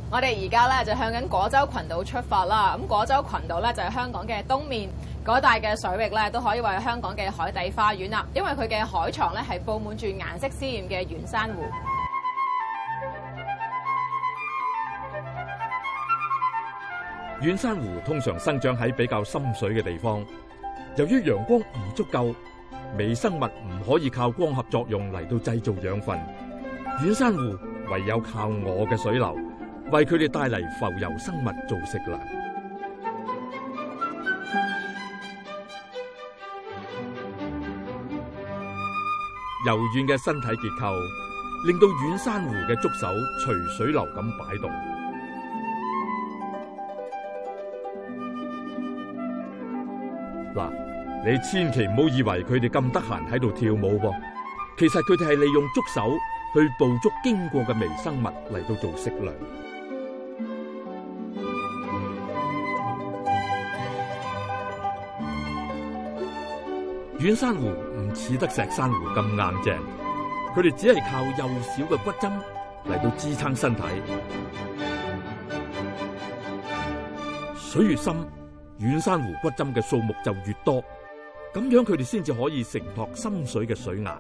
我哋而家咧就向緊果洲群島出發啦。咁果洲群島咧就係香港嘅東面，嗰帶嘅水域咧都可以話係香港嘅海底花園啦。因為佢嘅海床咧係佈滿住顏色鮮豔嘅圓珊瑚。 軟珊瑚通常生長喺比較深水嘅地方，由於陽光唔足夠，微生物唔可以靠光合作用嚟到製造養分，軟珊瑚唯有靠餓嘅水流，為佢哋帶嚟浮游生物做食糧。柔軟嘅身體結構，令到軟珊瑚嘅觸手隨水流咁擺動。嗱，你千祈唔好以為佢哋咁得閒喺度跳舞噃，其實佢哋係利用觸手去捕捉經過嘅微生物嚟到做食糧。軟珊瑚唔似得石珊瑚咁硬淨，佢哋只係靠幼小嘅骨針嚟到支撐身體。水越深，軟珊瑚骨針嘅數目就越多，咁樣佢哋先至可以承托深水嘅水壓。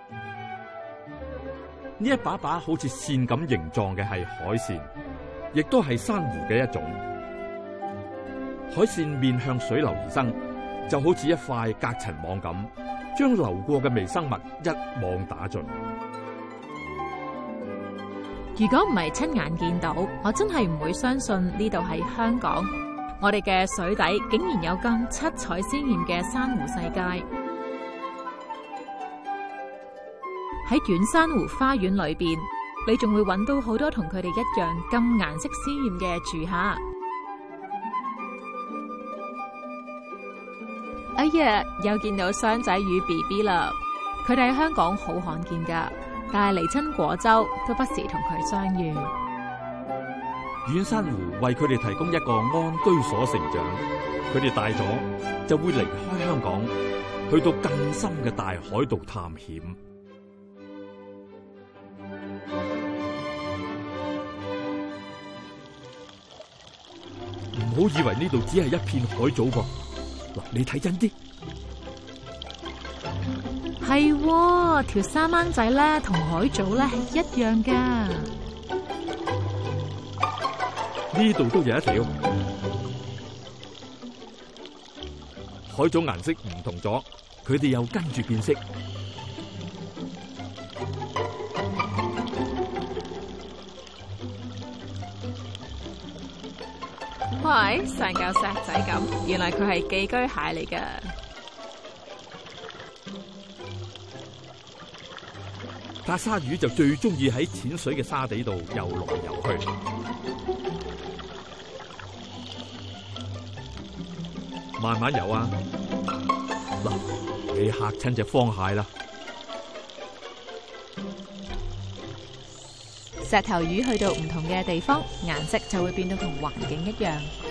呢一把把好似線咁形狀嘅係海扇，亦都係珊瑚嘅一種。海扇面向水流而生，就好似一塊隔塵網咁，將流過嘅微生物一網打盡。 如果唔係親眼見到，我真係唔會相信呢度係香港。我哋嘅水底竟然有咁七彩鮮豔嘅珊瑚世界。喺軟珊瑚花園裏邊，你仲會揾到好多同佢哋一樣咁顏色鮮豔嘅住客。哎呀，又見到雙仔魚 BB 啦！佢哋喺香港好罕見㗎，但係嚟親果洲都不時同佢相遇。 軟珊瑚為佢哋提供一個安居所成長，佢哋大咗就會離開香港，去到更深嘅大海度探險。唔好以為呢度只係一片海藻噃，嗱，你睇真啲， 係條沙掹仔咧，同海藻咧係一樣噶。 呢度都有一條海藻，顏色唔同咗，佢哋又跟住變色。 喂，成嚿石仔咁，原來佢係寄居蟹嚟噶。 大鯊魚就最中意喺淺水嘅沙地度游來游去。慢慢游啊！嗱，你嚇親隻方蟹啦！ 石頭魚去到唔同嘅地方，顏色就會變到同環境一樣。